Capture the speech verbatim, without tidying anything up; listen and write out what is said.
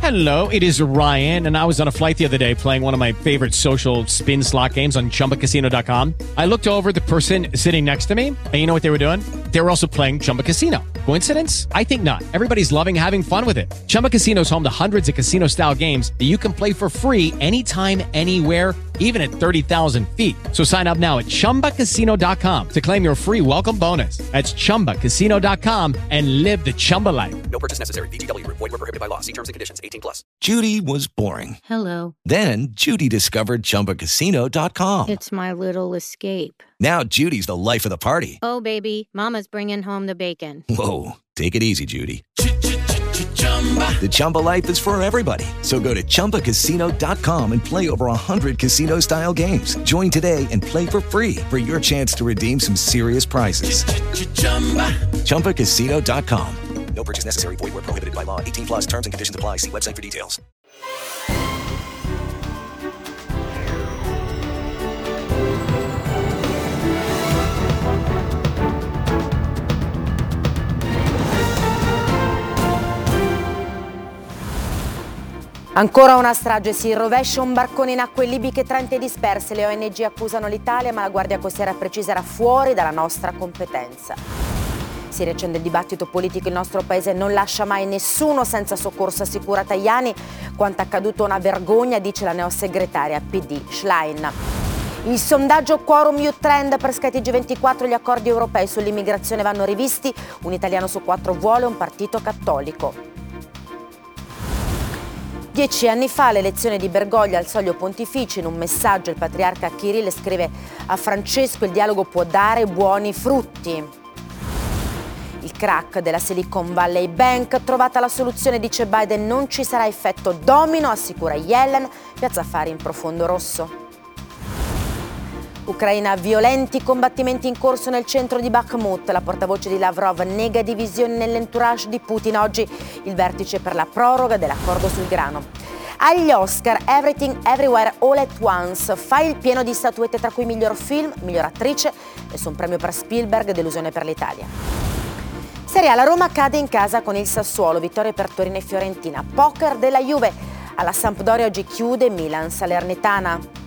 Hello, it is Ryan, and I was on a flight the other day playing one of my favorite social spin slot games on Chumba Casino dot com. I looked over at the person sitting next to me, and you know what they were doing? They were also playing Chumba Casino. Coincidence? I think not. Everybody's loving having fun with it. Chumba Casino is home to hundreds of casino-style games that you can play for free anytime, anywhere, even at thirty thousand feet. So sign up now at Chumba Casino dot com to claim your free welcome bonus. That's Chumba Casino dot com and live the Chumba life. No purchase necessary. V G W. Void where prohibited by law. See terms and conditions. eighteen plus. Judy was boring. Hello. Then Judy discovered Chumba Casino dot com. It's my little escape. Now Judy's the life of the party. Oh, baby, mama's bringing home the bacon. Whoa, take it easy, Judy. The Chumba life is for everybody. So go to Chumba Casino dot com and play over one hundred casino-style games. Join today and play for free for your chance to redeem some serious prizes. Chumba Casino dot com. No purchase necessary. Void where prohibited by law. eighteen plus terms and conditions apply. See website for details. Ancora una strage, si rovescia un barcone in acque libiche, trenta disperse. Le O N G accusano l'Italia, ma la Guardia Costiera precisa era fuori dalla nostra competenza. Si riaccende il dibattito politico, il nostro paese non lascia mai nessuno senza soccorso, assicura Tajani. Quanto accaduto una vergogna, dice la neosegretaria P D Schlein. Il sondaggio Quorum Youth Trend per Sky T G ventiquattro, gli accordi europei sull'immigrazione vanno rivisti, un italiano su quattro vuole un partito cattolico. Dieci anni fa l'elezione di Bergoglio al Soglio Pontificio, in un messaggio il patriarca Kirill scrive a Francesco: il dialogo può dare buoni frutti. Il crack della Silicon Valley Bank, trovata la soluzione, dice Biden, non ci sarà effetto domino, assicura Yellen, Piazza Affari in profondo rosso. Ucraina, violenti combattimenti in corso nel centro di Bakhmut. La portavoce di Lavrov nega divisioni nell'entourage di Putin. Oggi il vertice per la proroga dell'accordo sul grano. Agli Oscar, Everything Everywhere All at Once fa il pieno di statuette, tra cui miglior film, miglior attrice, nessun premio per Spielberg, delusione per l'Italia. Serie A, la Roma cade in casa con il Sassuolo, vittoria per Torino e Fiorentina. Poker della Juve, alla Sampdoria oggi chiude Milan Salernitana.